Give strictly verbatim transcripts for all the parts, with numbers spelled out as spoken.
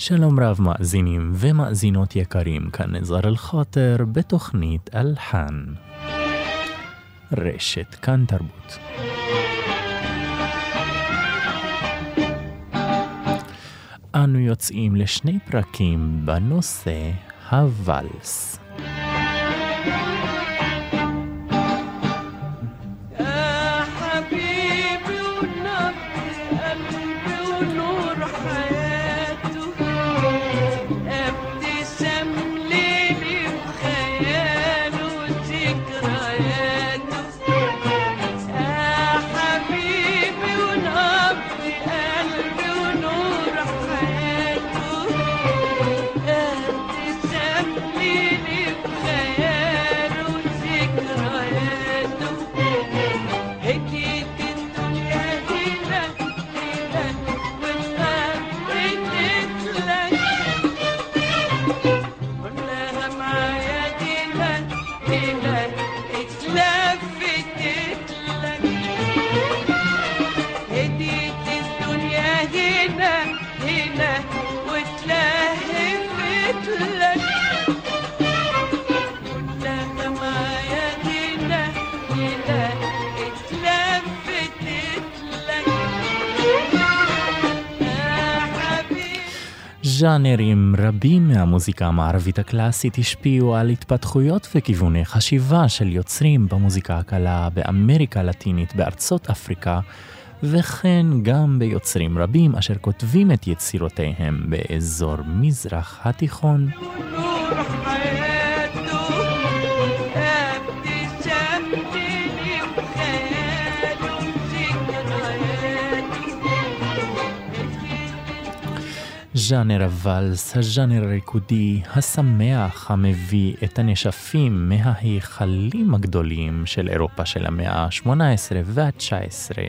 שלום רב מאזינים ומאזינות יקרים, כאן נזר אל-חאטר בתוכנית אלחן. רשת כאן תרבות. אנו יוצאים לשני פרקים בנושא הוואלס. ז'אנרים רבים מהמוזיקה המערבית הקלאסית השפיעו על התפתחויות וכיווני חשיבה של יוצרים במוזיקה הקלה באמריקה הלטינית, בארצות אפריקה, וכן גם ביוצרים רבים אשר כותבים את יצירותיהם באזור מזרח התיכון. ז'אנר הוואלס, הז'אנר הריקודי, השמח, המביא את הנשפים מההיכלים הגדולים של אירופה של המאה ה-שמונה עשרה וה-תשע עשרה.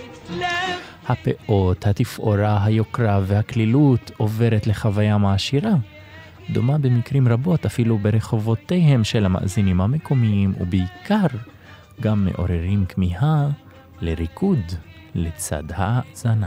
הפאות, התפאורה, היוקרה והכלילות עוברת לחוויה מעשירה, דומה במקרים רבות אפילו ברחובותיהם של המאזינים המקומיים, ובעיקר גם מעוררים כמיהה לריקוד לצד האזנה.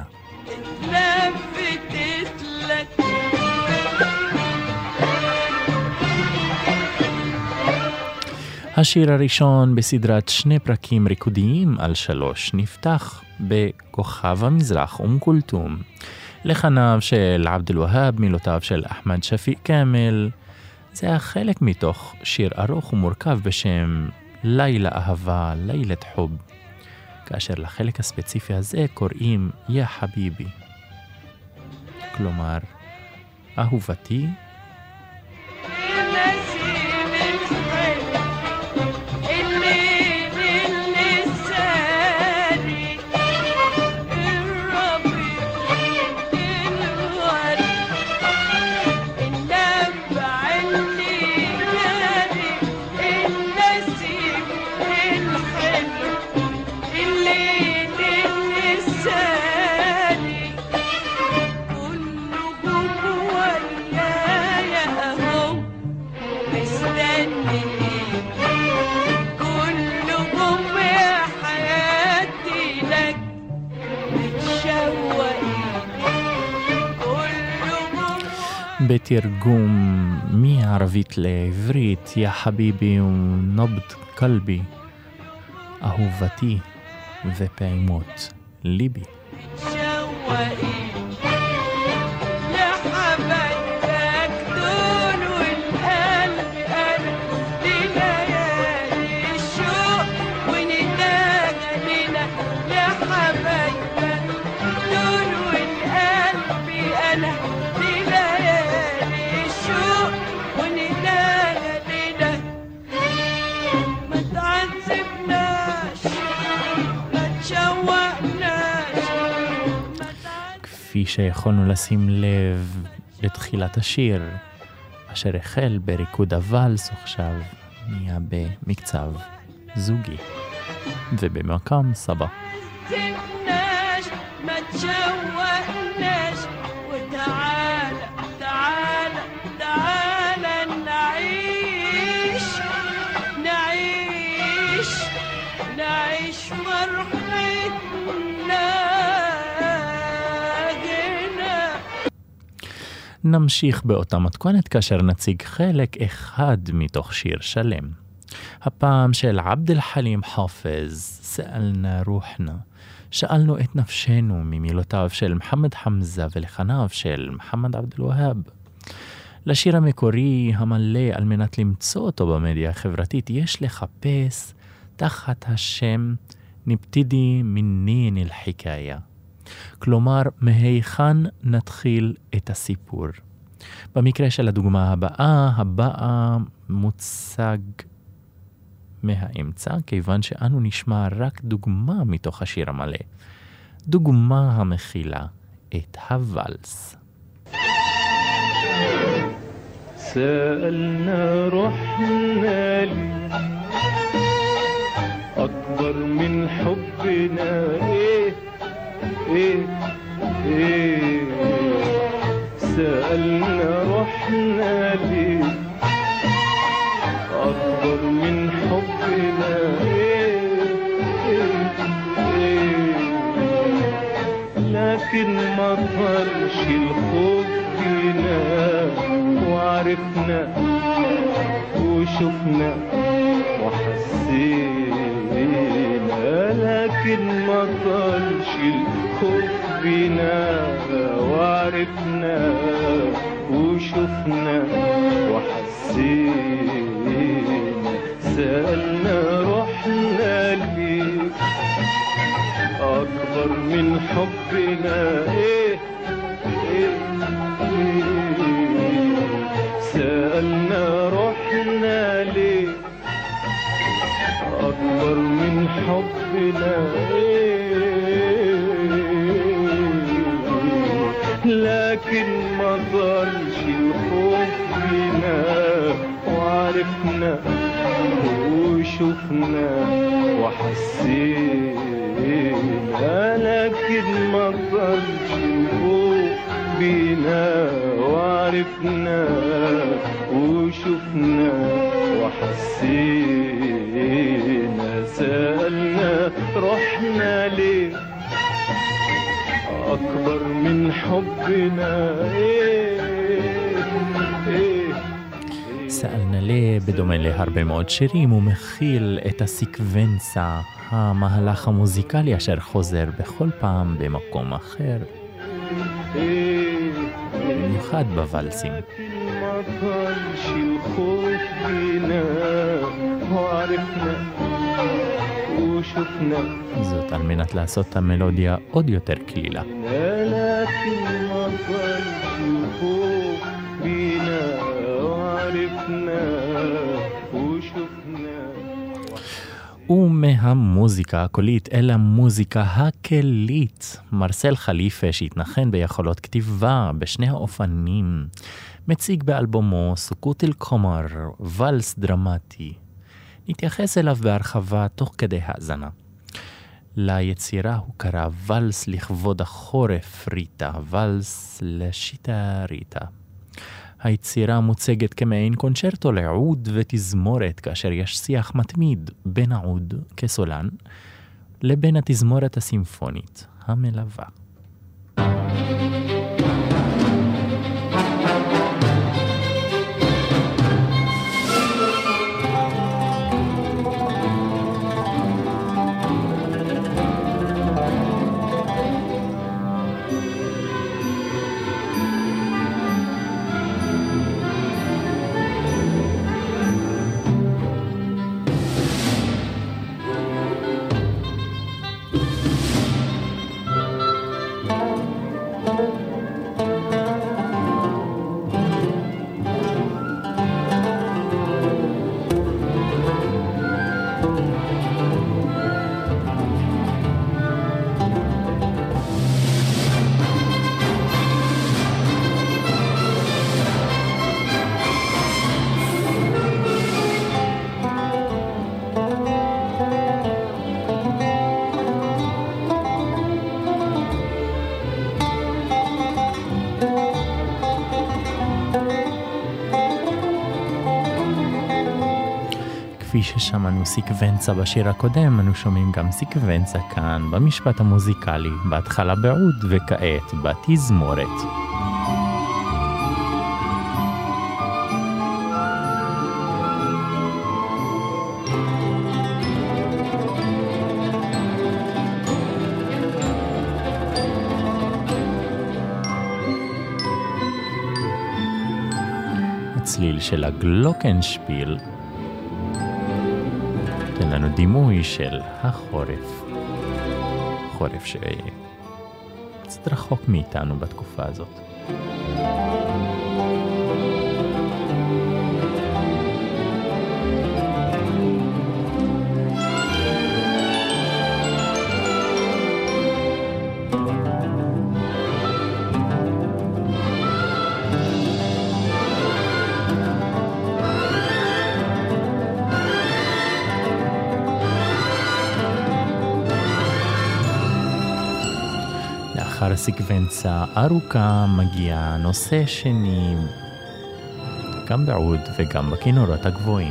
השיר הראשון בסדרת שני פרקים ריקודיים על שלוש נפתח בכוכב המזרח אום כולתום, לחניו של עבד אל-והאב, מילותיו של אחמד שפיק כאמל. זה היה חלק מתוך שיר ארוך ומורכב בשם לילה אהבה, לילת חוב, כאשר לחלק הספציפי הזה קוראים יא חביבי, כלומר אהובתי. בתרגום מערבית לעברית, יא חביבי ונבד קלבי, אהובתי ופעימות ליבי. כפי שיכולנו לשים לב לתחילת השיר, אשר החל בריקוד הוואלס עכשיו נהיה במקצב זוגי ובמקם סבא. נמשיך באותה מתכונת כאשר נציג חלק אחד מתוך שיר שלם. הפעם של עבד אל-חלים חאפז, סאלנה רוחנה. שאלנו את נפשנו ממילותיו של מחמד חמזה ולחניו של מחמד עבד אל-והאב. לשיר המקורי המלא על מנת למצוא אותו במדיה החברתית יש לחפש תחת השם נבתדי מנין אל-חיקאיה. כלומר, מהיכן נתחיל את הסיפור. במקרה של הדוגמה הבאה, הבאה מוצג מהאמצע, כיוון שאנו נשמע רק דוגמה מתוך השיר המלא. דוגמה המכילה את הוואלס. سألنا رحنا لي أكبر من حبنا إيه إيه إيه سألنا رحنا لي أكبر من حبنا إيه إيه إيه لكن ما طرش الخوف فينا وعرفنا وشفنا وحسينا لكن ما طالش الخوف بينا وعرفنا وشفنا وحسينا سألنا رحنا ليك أكبر من حبنا إيه إيه إيه سألنا رحنا ليه أكبر من حبنا لكن ما ضلش الخوف فينا وعرفنا وشفنا وحسينا لكن ما ضلش الخوف بينا وعرفنا وشفنا وحسينا سألنا رحنا ليه أكبر من حبنا إيه إيه סאלנה ליה, בדומה להרבה מאוד שירים, הוא מכיל את הסיקוונצה, המהלך המוזיקלי אשר חוזר בכל פעם במקום אחר. במיוחד בוואלסים. זאת על מנת לעשות את המלודיה עוד יותר כלילה. ומהמוזיקה הקולית אל המוזיקה הכלית, מרסל חליפה שהתנחן ביכולות כתיבה בשני האופנים, מציג באלבומו סוכות אל קומר, ולס דרמטי. נתייחס אליו בהרחבה תוך כדי האזנה. ליצירה הוא קרא ולס לכבוד החורף ריטה, ולס לשיטה ריטה. היצירה מוצגת כמעין קונצ'רטו לעוד ותזמורת, כאשר יש שיח מתמיד בין העוד כסולן לבין התזמורת הסימפונית המלווה. כפי ששמענו סיקוונצה בשיר הקודם, אנו שומעים גם סיקוונצה כאן במשפט המוזיקלי, בהתחלה בעוד וכעת בתזמורת. הצליל של הגלוקנשפיל נותן לנו דימוי של החורף. חורף שקצת רחוק מאיתנו בתקופה הזאת. לאחר הסקוונצה ארוכה מגיע נושא שני, גם בעוד וגם בכינורות הגבוהים.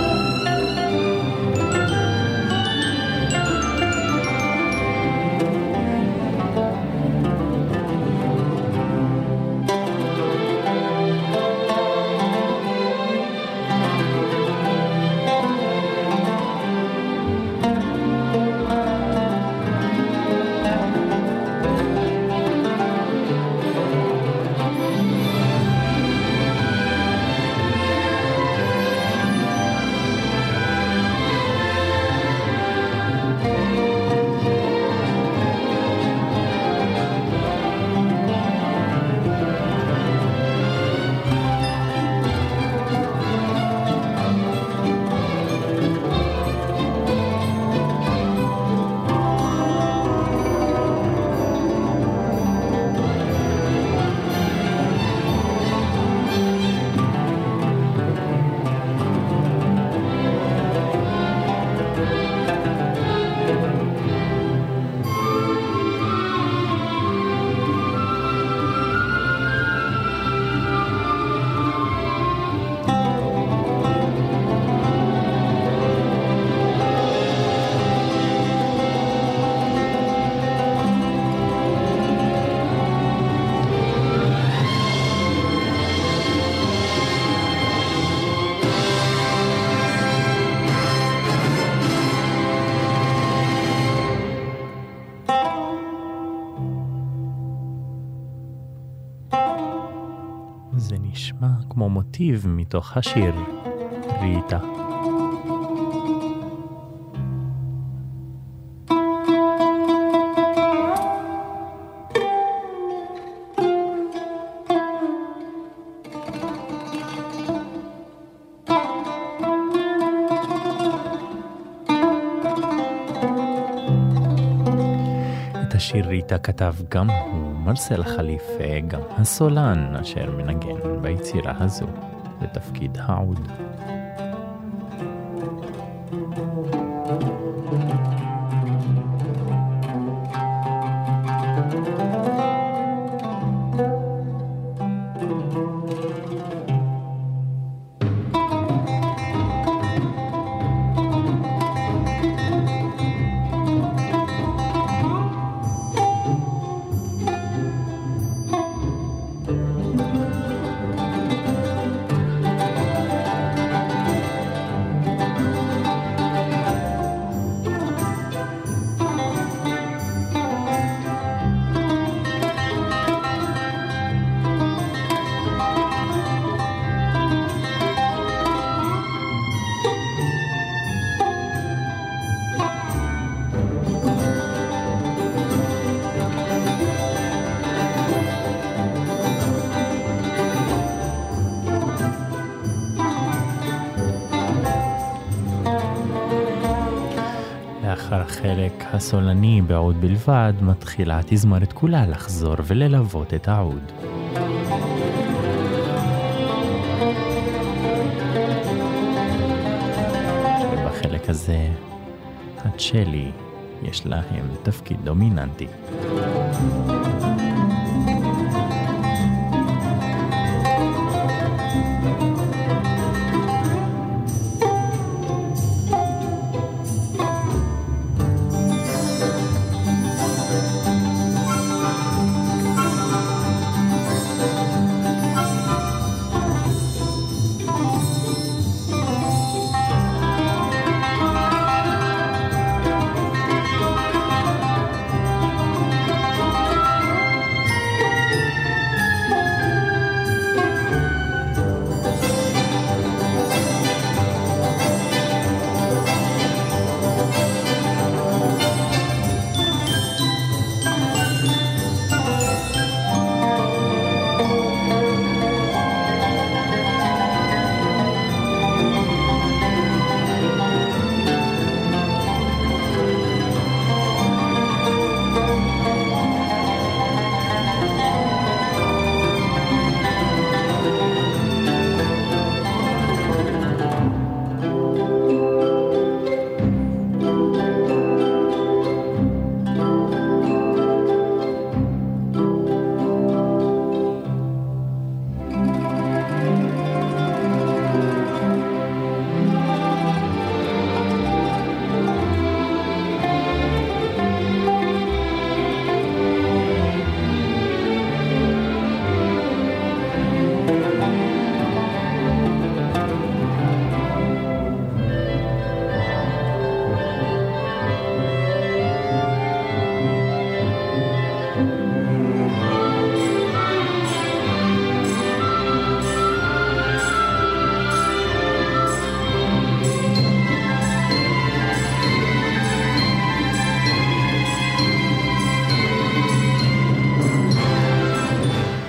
זה נשמע כמו מוטיב מתוך השיר ריטה. השיר ריטה כתב גם הוא מרסל חליפה, גם הסולן אשר מנגן ביצירה הזו בתפקיד העוד. לאחר החלק הסולני בעוד בלבד, מתחילה התזמורת כולה לחזור וללוות את העוד. ובחלק הזה, הצ'לי יש להם תפקיד דומיננטי.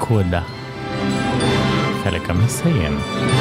קודה. חלק המסיים.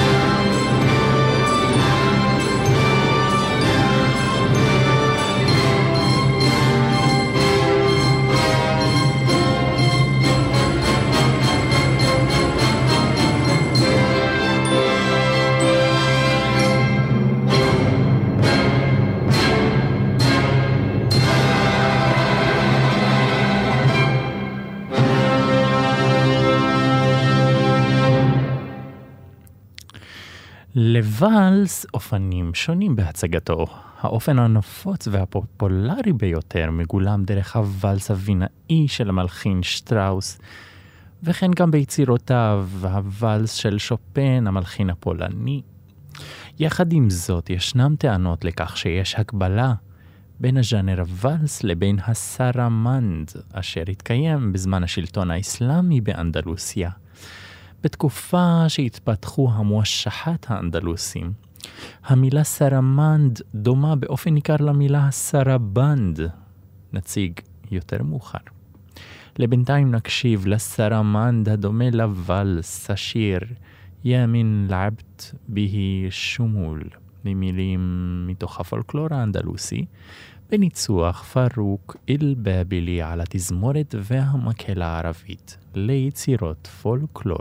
לוואלס אופנים שונים בהצגתו. האופן הנפוץ והפופולרי ביותר מגולם דרך הוואלס הווינאי של המלחין שטראוס, וכן גם ביצירותיו הוואלס של שופן, המלחין הפולני. יחד עם זאת, ישנם טענות לכך שיש הקבלה בין הז'אנר הוואלס לבין הסרמנד, אשר התקיים בזמן השלטון האסלאמי באנדלוסיה. בתקופה שהתפתחו המואשחת האנדלוסים, המילה סרמנד דומה באופן ניכר למילה סרבנד, נציג יותר מאוחר. לבינתיים נקשיב לסרמנד הדומה לוואלס, השיר ימין לעבט בי שומול, במילים מתוך הפולקלור האנדלוסי, בניצוח פרוק אל-באבילי על התזמורת והמקהלה הערבית ליצירות פולקלור.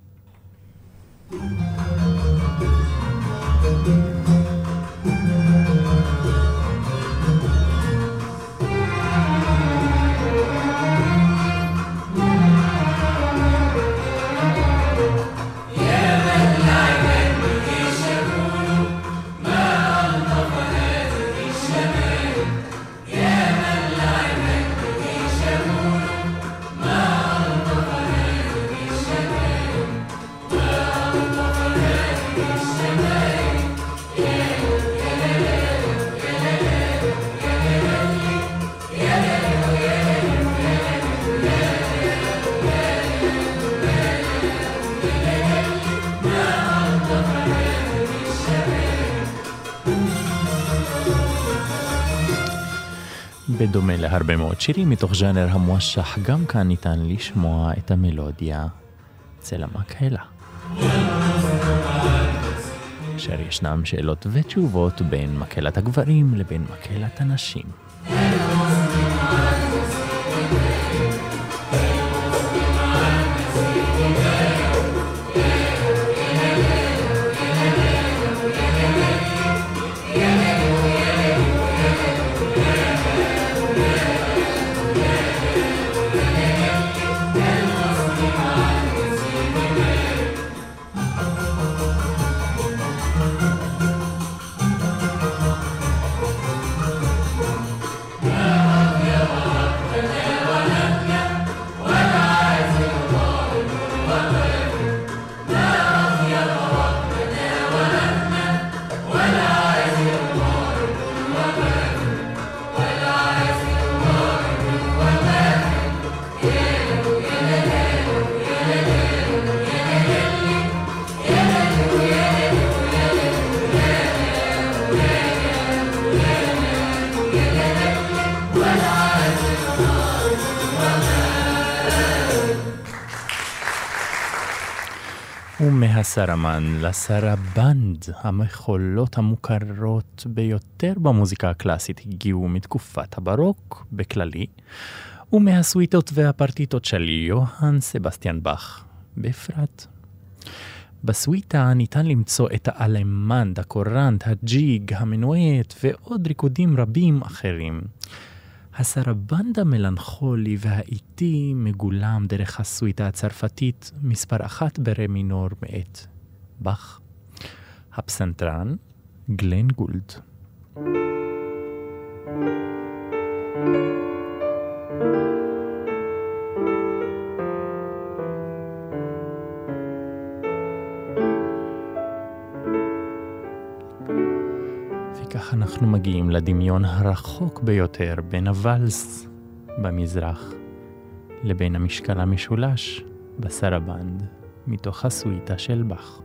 בדומה להרבה מאוד שירים מתוך ז'אנר המואשח, גם כאן ניתן לשמוע את המלודיה אצל המקהלה. אשר ישנם שאלות ותשובות בין מקהלת הגברים לבין מקהלת הנשים. ומהסרמן לסרבנד, המחולות המוכרות ביותר במוזיקה הקלאסית הגיעו מתקופת הברוק בכללי, ומהסוויטות והפרטיטות של יוהאן סבסטיאן באך בפרט. בסוויטה ניתן למצוא את האלמנד, הקורנט, הג'יג, המנואט ועוד ריקודים רבים אחרים. הסרבנד המלנכולי והאיטי מגולם דרך הסוויטה הצרפתית מספר אחת ברי מינור מאת באך. הפסנתרן גלן גולד. וכך אנחנו מגיעים לדמיון הרחוק ביותר בין הוואלס במזרח לבין המשקל המשולש בסרבנד מתוך הסוויטה של באך.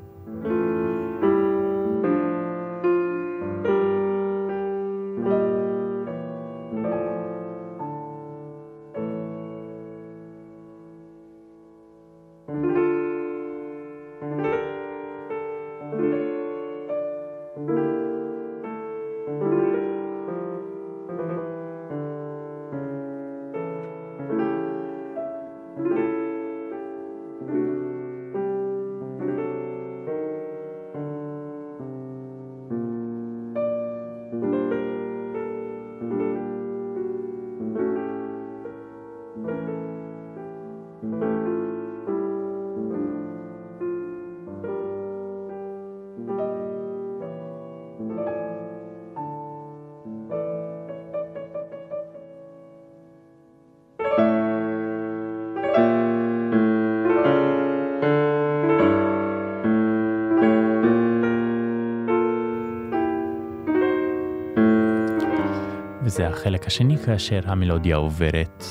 בחלק השני כאשר המלודיה עוברת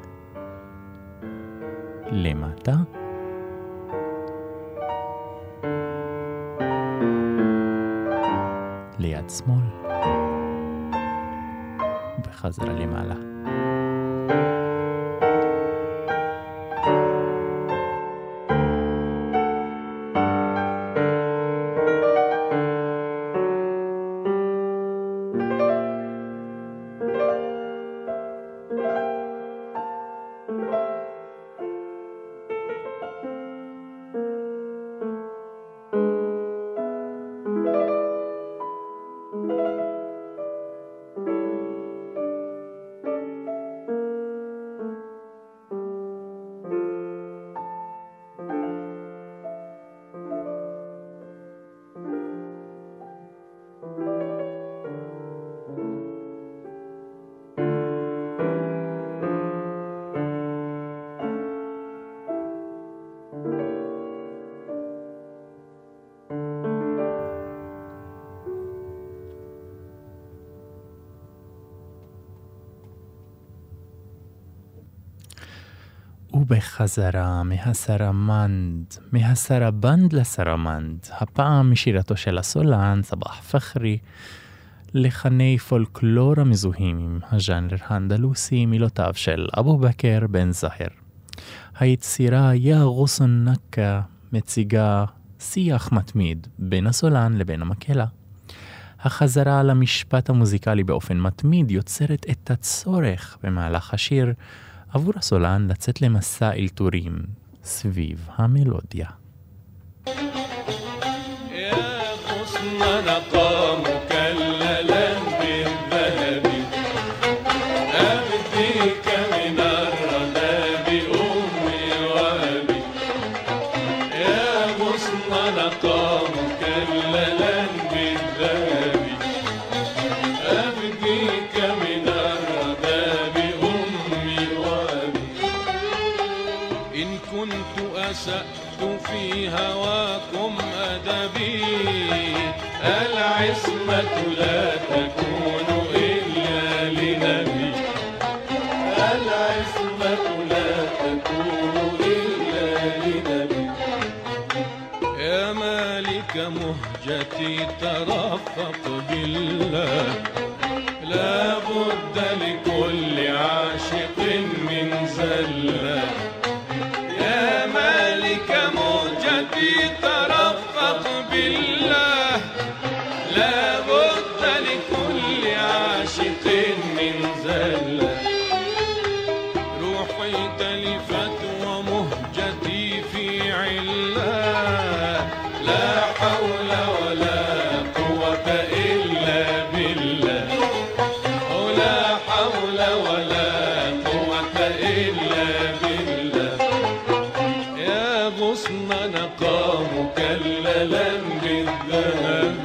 למטה. ליד שמאל. בחזרה למעלה. ובחזרה מהסרמנד, מהסרבנד לסרמנד, הפעם משירתו של הסולן, סבח פחרי, לחני פולקלור המזוהים עם הז'אנר האנדלוסי, מילותיו של אבו בכר בן זהר. היצירה יא גוסן נקה מציגה שיח מתמיד בין הסולן לבין המקהלה. החזרה על המשפט המוזיקלי באופן מתמיד יוצרת את הצורך במהלך השיר עבור הסולן לצאת למסע אלתורים סביב המלודיה. في هواكم أدبي العصمة لا تكون إلا لنبي العصمة لا تكون إلا لنبي يا مالك مهجتي ترفق بالله لا بد لكل عاشق من زلة يا مالك موجتي ترفق بالله لا بد لكل عاشق من زلة روحي تلفت ومهجتي في علة لا حول ولا قوة إلا بالله لا حول ولا قوة إلا بالله غصن نقى مكللا بالذهب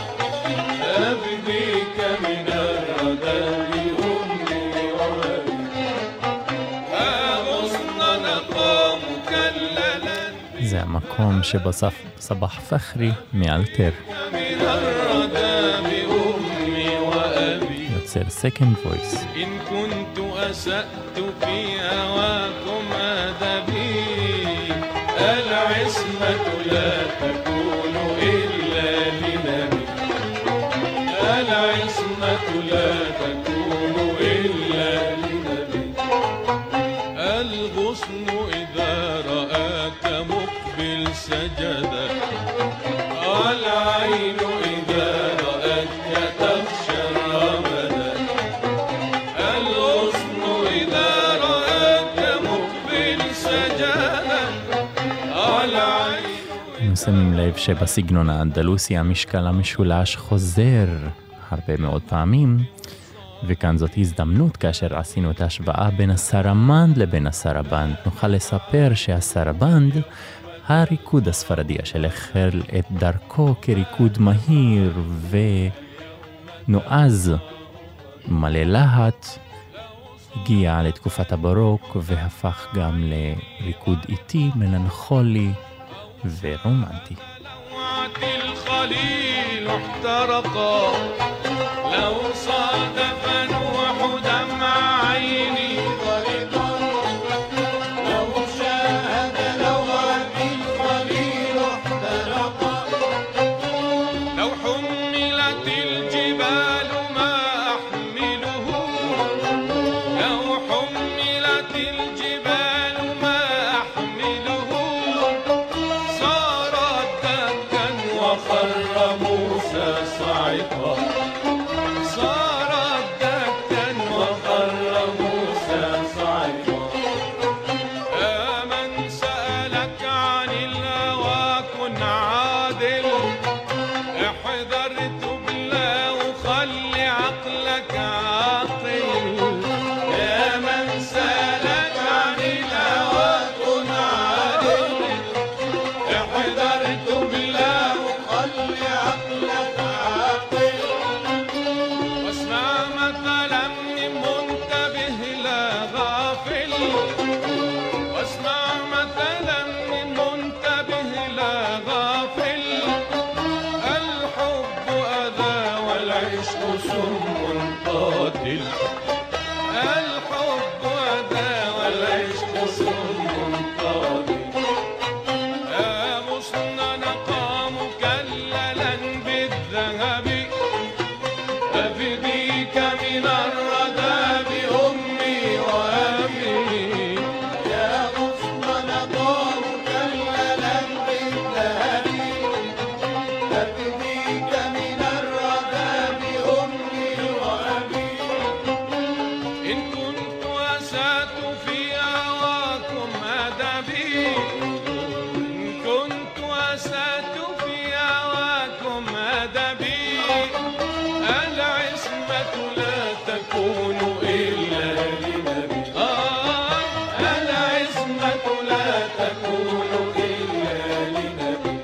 أبديك من الردى أمي وأبي غصن نقى مكللا זה המקום שבסוף סבח פחרי מאלתר من الردى أمي وأبي יוצר second voice. إن كنت أسأت في هواكم أدبي العصمة لا تكون إلا لنبي العصمة لا تكون إلا لنبي الغصن إذا رآك مقبل سجدا العين إذا رأتك تخشى الرمدا الغصن إذا رآك مقبل سجدا שמים לב שבסגנון האנדלוסי המשקל המשולש חוזר הרבה מאוד פעמים, וכאן זאת הזדמנות כאשר עשינו את ההשוואה בין הסרמנד לבין הסרבנד. נוכל לספר שהסרבנד, הריקוד הספרדי אשר החל את דרכו כריקוד מהיר ונועז מלא להט, הגיע לתקופת הברוק והפך גם לריקוד איטי, מלנכולי ורומנטי. الخليل احترقا لو صادف نوح في هواكم أدبي كنت أسأت في هواكم أدبي العصمة لا تكون إلا لنبي آه العصمة لا تكون إلا لنبي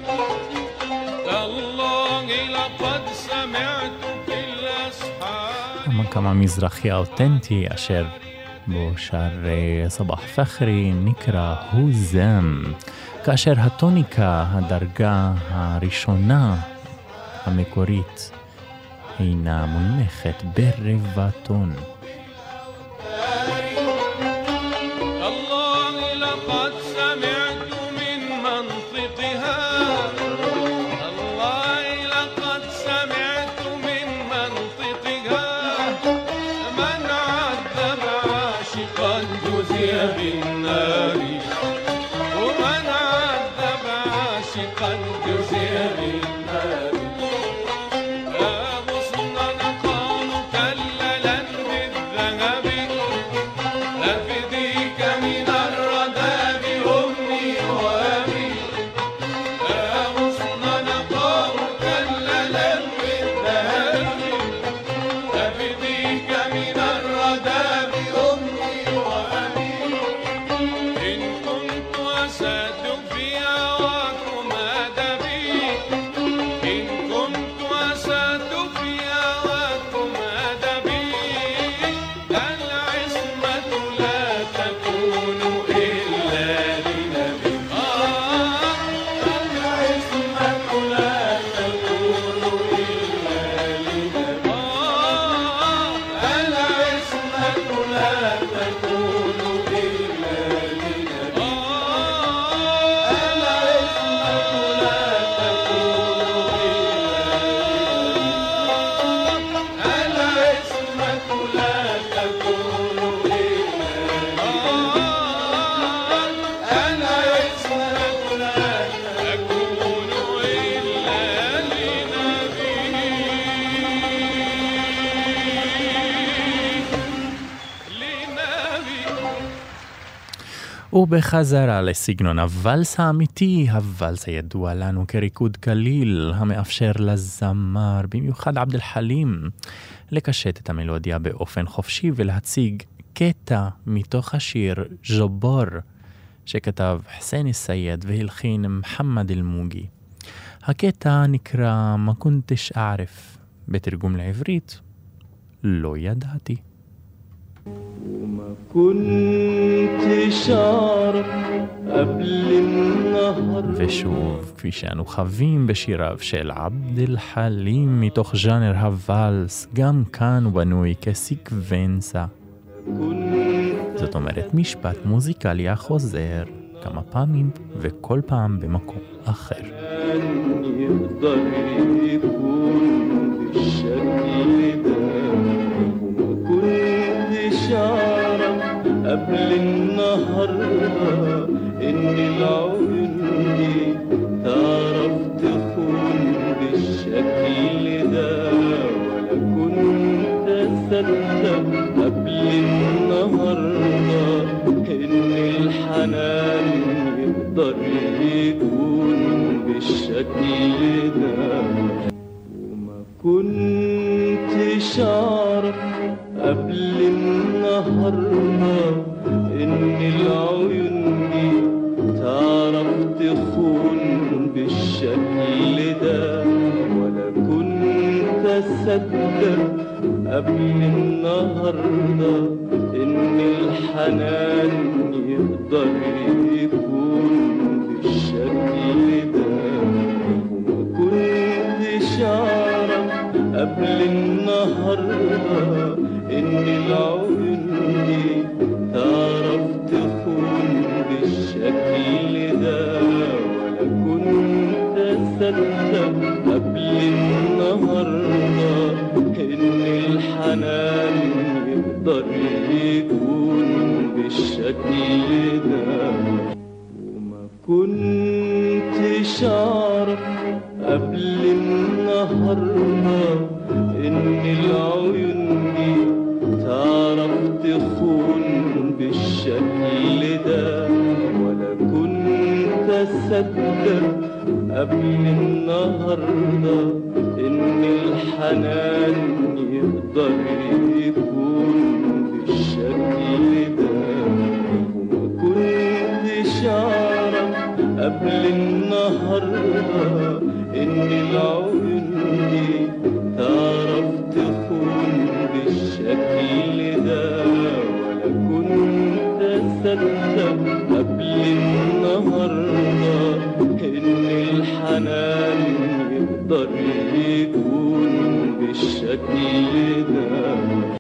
تالله لقد سمعت في الأصحاب כמה מזרחי אותנטי אשר בו שר סבח פחרי נקרא הוזם, כאשר הטוניקה, הדרגה הראשונה המקורית, אינה מונחת ברבע טון. الله لقد سمعت من منطقها الله لقد سمعت من منطقها من عذب عاشقا جزي بالنار ومن عذب عاشقا جزي بالنار يا غصنا نقام كللا بالذهب أفديك من الردى بأمي وأبي يا غصن نقام كللا بالذهب أفديك من الردى بأمي وأبي إن كنت أسد في هواكم أدبي إن كنت أسد في هواكم أدبي العصمة لا تكون إلا لنبي آه العصمة لا تكون إلا لنبي آه العصمة لا تكون إلا لنبي آه العصمة لا تكون ובחזרה לסגנון הוואלס האמיתי, הוואלס הידוע לנו כריקוד קליל, המאפשר לזמר, במיוחד עבד אל חלים, לקשט את המלודיה באופן חופשי ולהציג קטע מתוך השיר ג'בור, שכתב חסן אל-סייד והלחין מוחמד אל-מוגי. הקטע נקרא מה כונתש אערף, בתרגום לעברית, לא ידעתי. وما كنتش أعرف قبل النهر ושוב, כפי שאנו חווים בשיריו של עבד אל חלים מתוך ז'אנר הוואלס, גם כאן הוא בנוי כסיקוונסה. זאת אומרת משפט מוזיקלי החוזר כמה פעמים וכל פעם במקום אחר. يقدر يكون بالشكل ده وما كنتش أعرف قبل النهاردة إن العيون دي تعرف تكون بالشكل ده ولا كنت أصدق قبل النهاردة إن الحنان يقدر يكون بالشكل ده وما كنتش أعرف قبل النهاردة إن العيون دي تعرف تخون بالشكل ده ولا كنت أصدق قبل النهاردة إن الحنان يقدر يكون بالشكل ده وما كنتش أعرف قبل النهاردة إن العيون دي تعرف تخون بالشكل ده ولا كنت أصدق قبل النهاردة إن الحنان يقدر يكون بالشكل ده وما كنتش أعرف قبل النهاردة إن العيون دي تعرف تخون بالشكل بالشكل ده، ولا كنت أصدق قبل النهاردة إن الحنان يقدر يكون بالشكل ده، وما كنتش أعرف قبل النهاردة إن العيون دي تعرف تخون بالشكل ده، ولا كنت أصدق قبل النهاردة إن الحنان يقدر يكون بالشكل ده.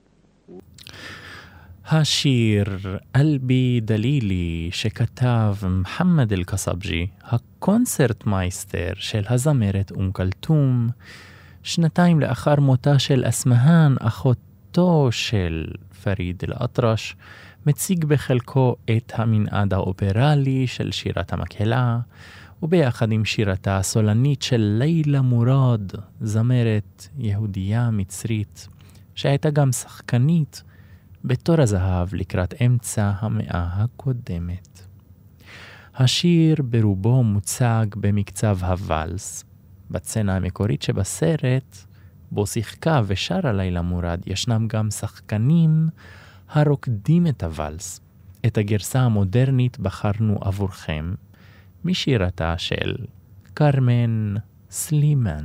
השיר "אלבי דלילי" שכתב מחמד אל-קסבג'י, הקונצרט מייסטר של הזמרת אום כלתום, שנתיים לאחר מותה של אסמהאן, אחותו של פריד אל-אטרש, מציג בחלקו את המנעד האופרלי של שירת המקהלה, וביחד עם שירתה הסולנית של לילה מורד, זמרת יהודייה מצרית, שהייתה גם שחקנית בתור הזהב לקראת אמצע המאה הקודמת. השיר ברובו מוצג במקצב הוואלס. בצנה המקורית שבסרט, בו שיחקה ושרה לילה מורד, ישנם גם שחקנים הרוקדים את הוואלס. את הגרסה המודרנית בחרנו עבורכם משירתה של קרמן סלימן.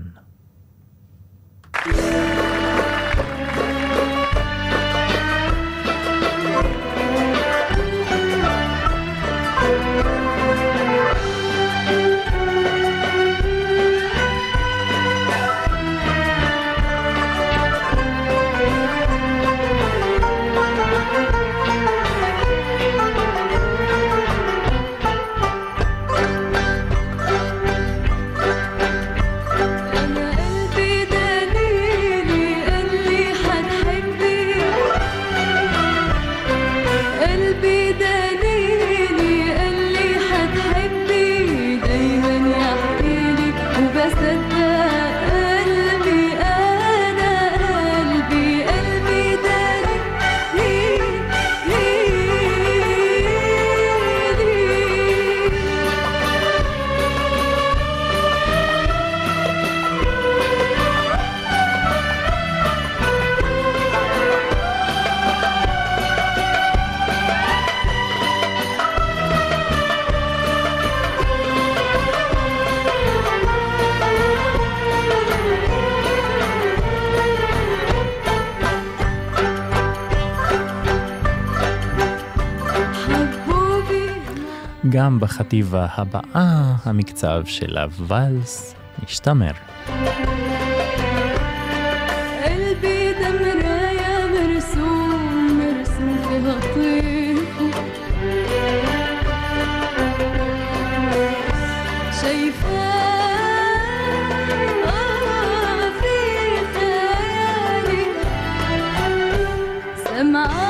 גם בחטיבה הבאה המקצב של הוואלס משתמר. قلبي ده مراية مرسوم مرسوم فيها طيف شايفاه آه في خيالي سمعاه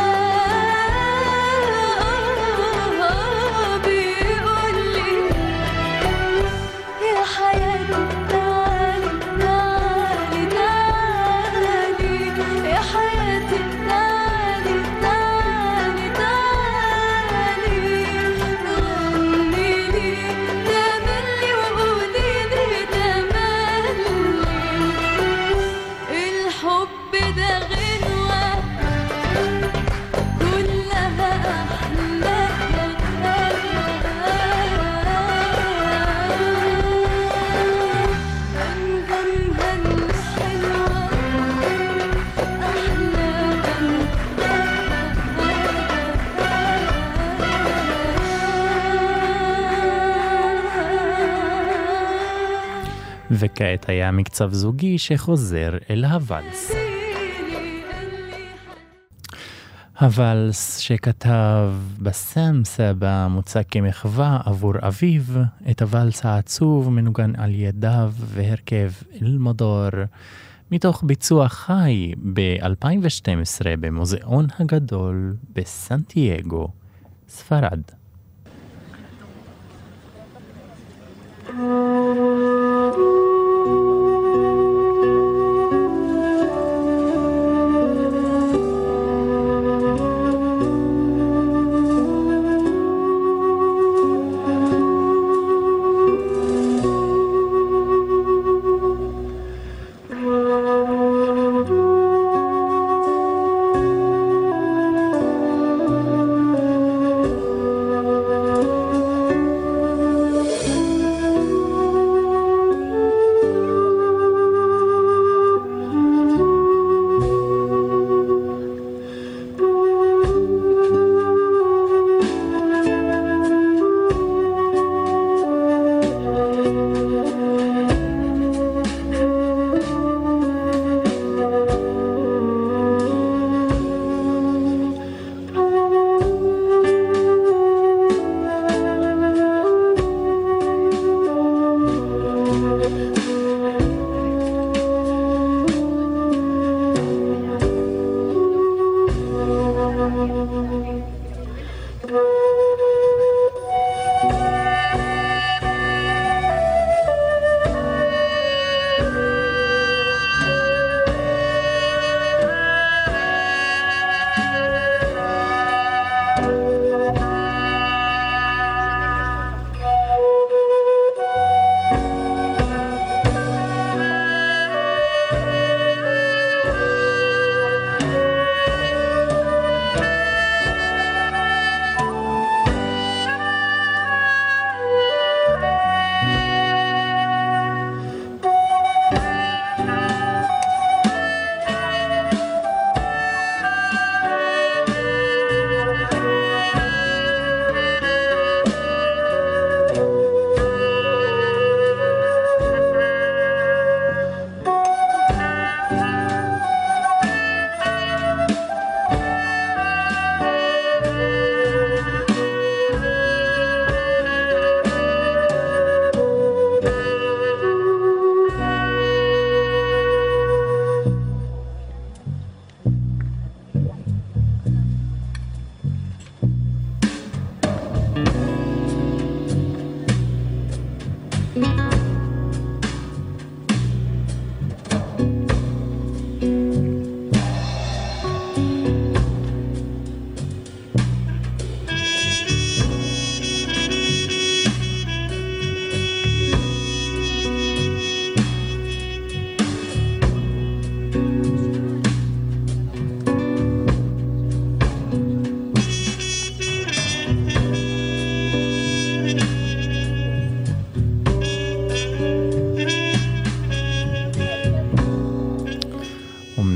וכעת היה מקצב זוגי שחוזר אל הוואלס. הוואלס שכתב בסם סבא מוצג כמחווה עבור אביו, את הוואלס העצוב מנוגן על ידיו והרכב אל-מדור, מתוך ביצוע חי ב-אלפיים ושתים עשרה במוזיאון הגדול בסנטייגו, ספרד.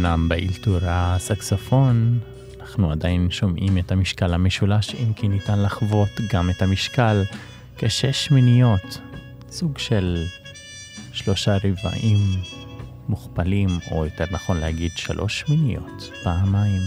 לכולם באילתור הסקסופון. אנחנו עדיין שומעים את המשקל המשולש, אם כי ניתן לחוות גם את המשקל כשש מיניות, סוג של שלושה רבעים מוכפלים, או יותר נכון להגיד שלוש מיניות פעמיים.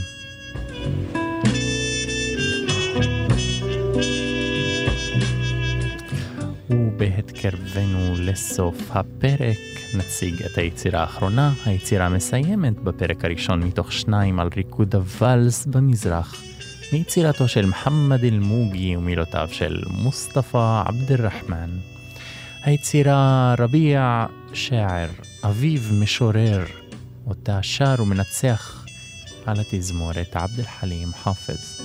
ובהתקרבנו לסוף הפרק נציג את היצירה האחרונה, היצירה מסיימת בפרק הראשון מתוך שניים על ריקוד הוואלס במזרח, מיצירתו של מוחמד אל-מוגי ומילותיו של מוסטפא עבד אל-רחמן. היצירה רביע שער, אביב משורר, אותה שר ומנצח על התזמורת עבד אל-חלים חאפז.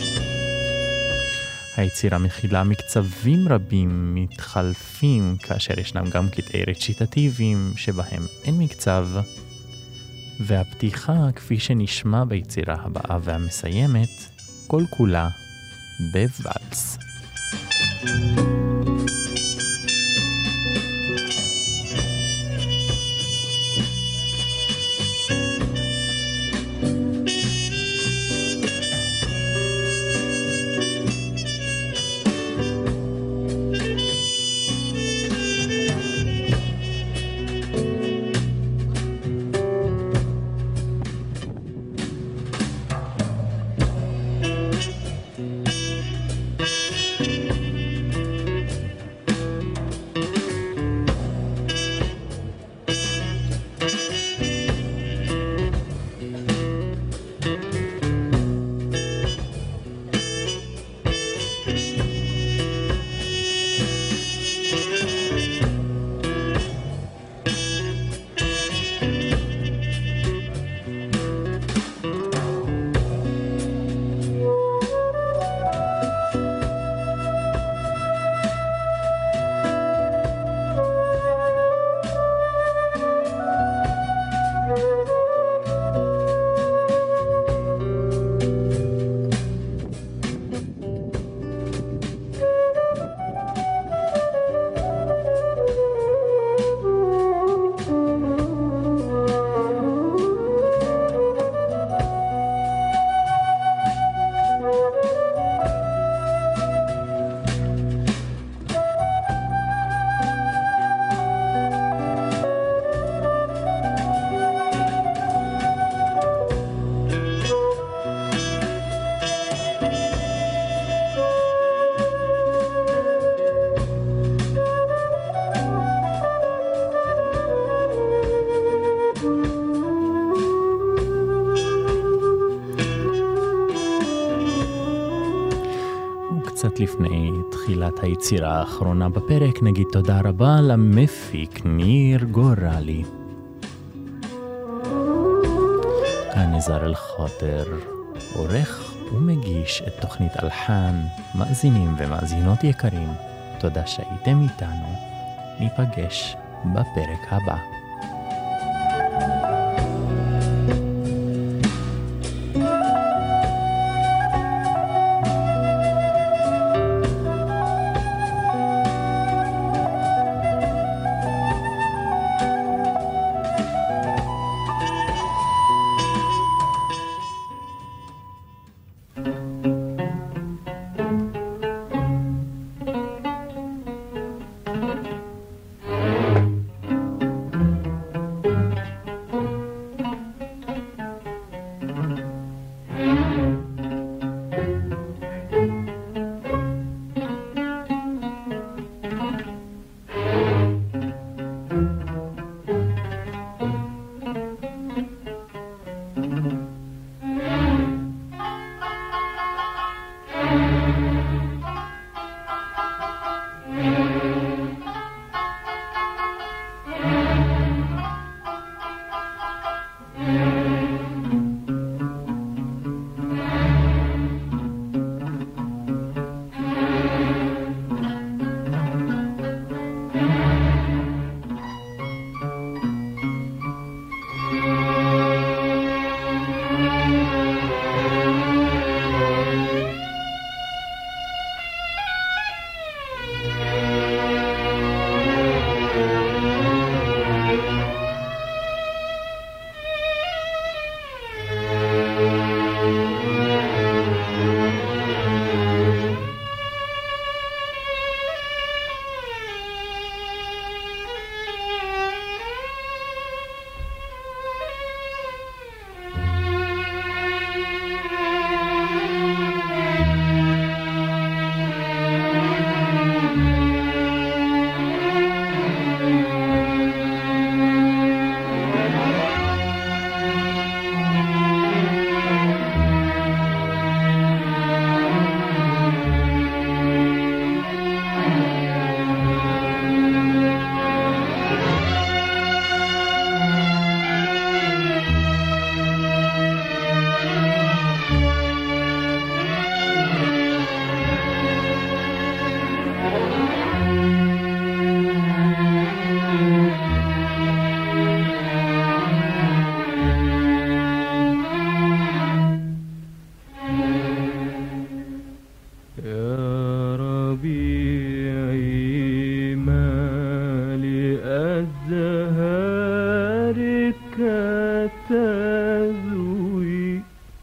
היצירה מכילה מקצבים רבים מתחלפים, כאשר ישנם גם קטעי רציטטיביים שבהם אין מקצב, והפתיחה כפי שנשמע ביצירה הבאה והמסיימת, כל כולה בוואלס. קצת לפני תחילת היצירה האחרונה בפרק נגיד תודה רבה למפיק ניר גורלי. כאן נזר אל-חוטר עורך ומגיש את תוכנית אלחן. מאזינים ומאזינות יקרים, תודה שהייתם איתנו, ניפגש בפרק הבא. ربيعي ما لأزهارك تذوي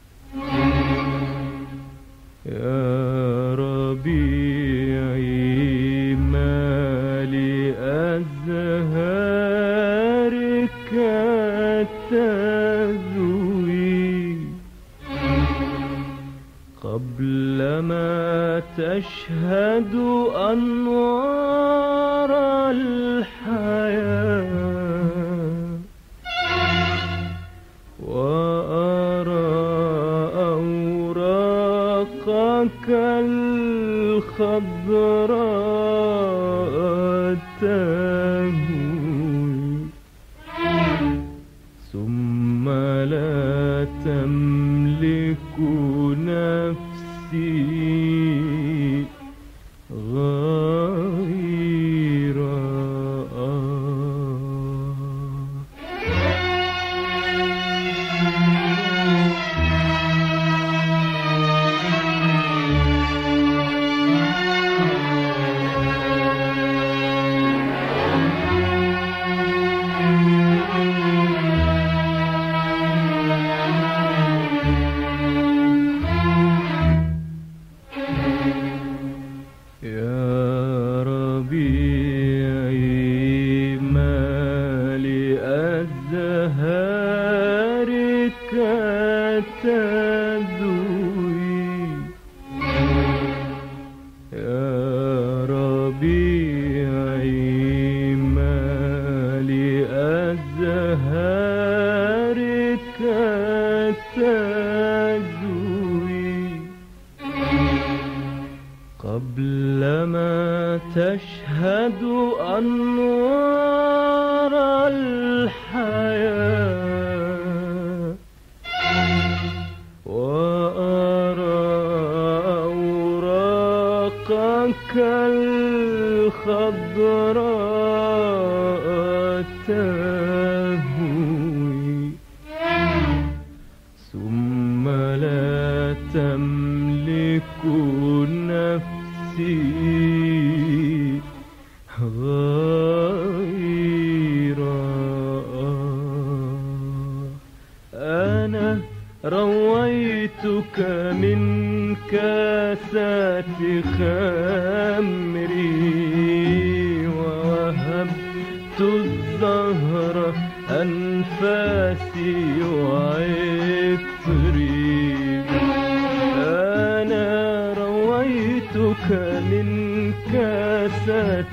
يا ربيعي ما لأزهارك تذوي قبل ما تشهد أنوار الحياة وأرى أوراقك الخضراء تهوي ثم لا تملك نفسي غير تشهد أنوار الحياة وأرى أوراقك الخضراء تهوي ثم لا تملك نفسي غير أنا رويتك من كاسات خمري ووهبت الزهر أنفاسي وعطري أنا رويتك من كاسات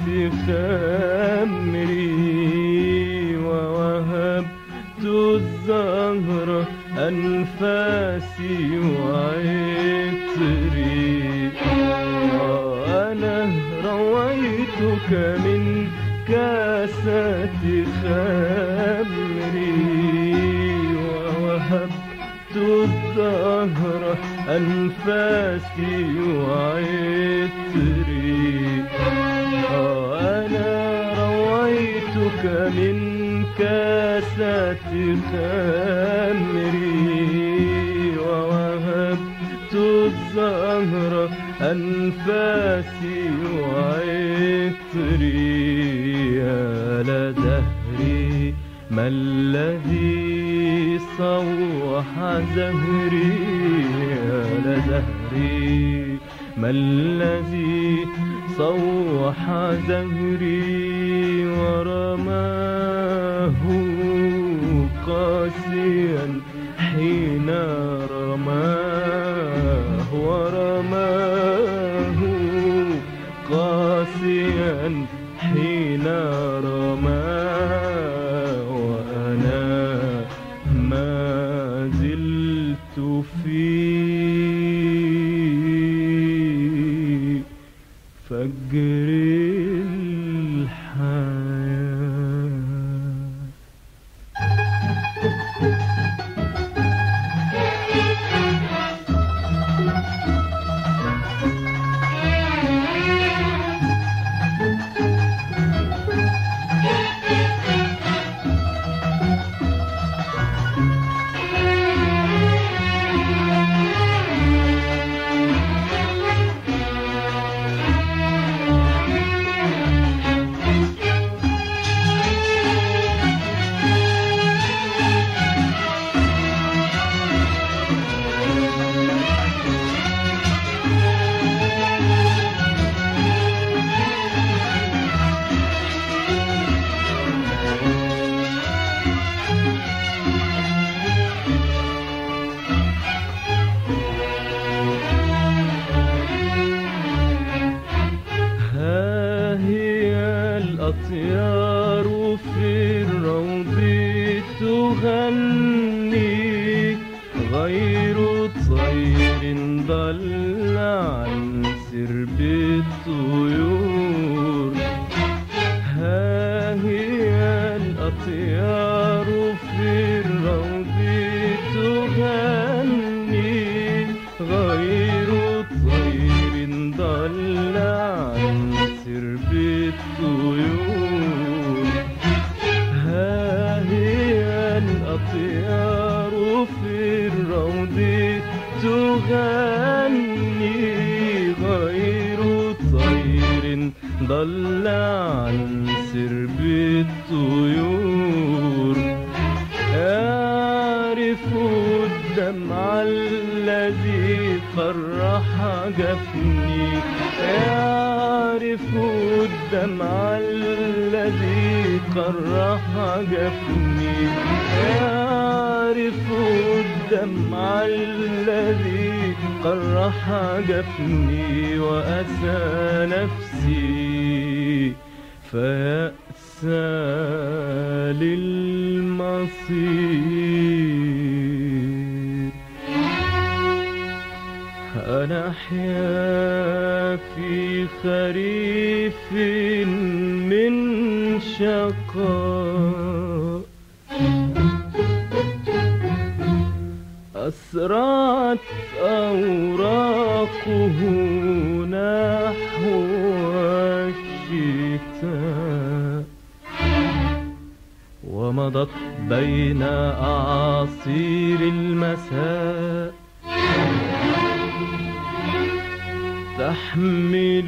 خمري ووهبت الزهر أنفاسي وعطري أنا رويتك من كاسات خمري ووهبت الزهر أنفاسي وعطري أنا رويتك من كاسات خمري ووهبت الزهر أنفاسي وعطري يا لدهري ما الذي صوح زهري يا لدهري ما الذي صوح زهري ورماه قاسيا حين رماه ورماه قاسيا حين رماه وأنا ما زلت في فجر الحياة الأطيار في الروض تغني غير طير ضل عن سرب الطيور. ها هي الأطيار في الروض تغني غير طير ضل عن سرب الطيور. ها هي الأطيار في الروض تغني غير طير ضل عن سرب الطيور. يعرف الدمع الذي فرح جفني يعرف الدمع الذي فرح جفني يعرف الدمع الذي قرح جفني وأسى نفسي فيأسى للمصير. أنا أحيا في خريف من شقاء أسرعت أوراقه نحو الشتاء ومضت بين أعاصير المساء تحمل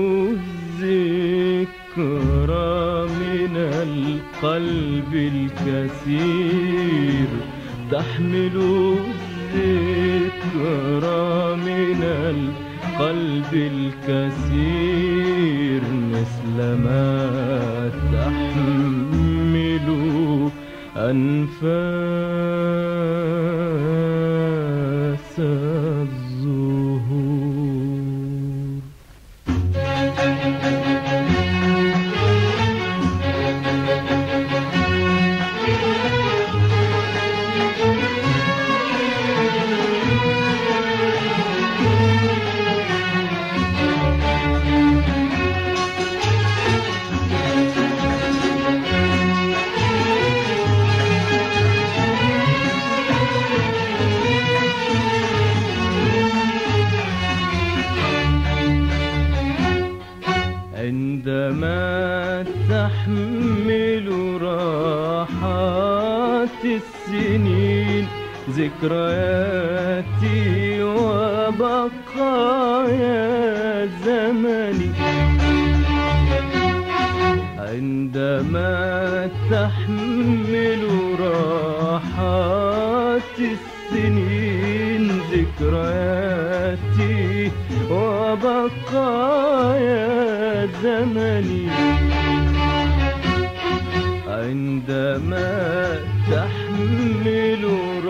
الذكرى من القلب الكثير تحمل الذكرى من القلب الكثير مثل ما تحمل أنفاس الزهور. عندما تحمل راحات السنين ذكرياتي وبقايا زمني عندما تحمل راحات السنين ذكرياتي وبقايا زمني عندما تحمل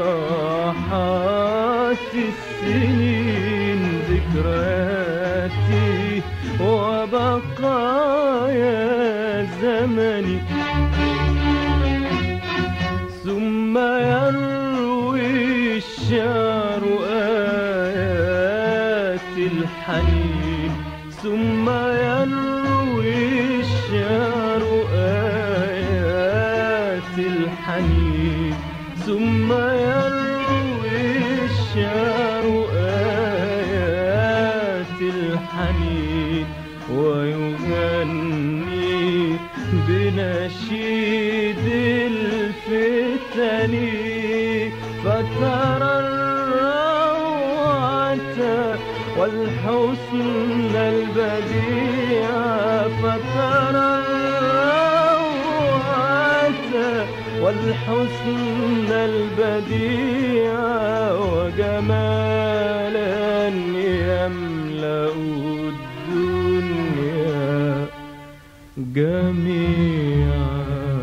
راحات السنين ذكرياتي وبقايا زمني ثم يروي الشعر آيات الحنين ثم يروي الشعر آيات الحنين ثم يروي الشعر آيات الحنين ويغني بنشيد الفتن فترى الروعة والحسن البديع فترى الروعة والحسن البديع وجمالا يملأ الدنيا جميعا.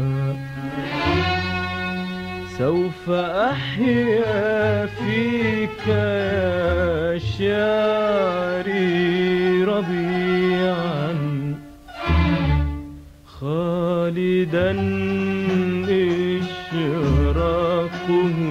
سوف أحيا فيك يا شعري ربيعا إذا إشراقه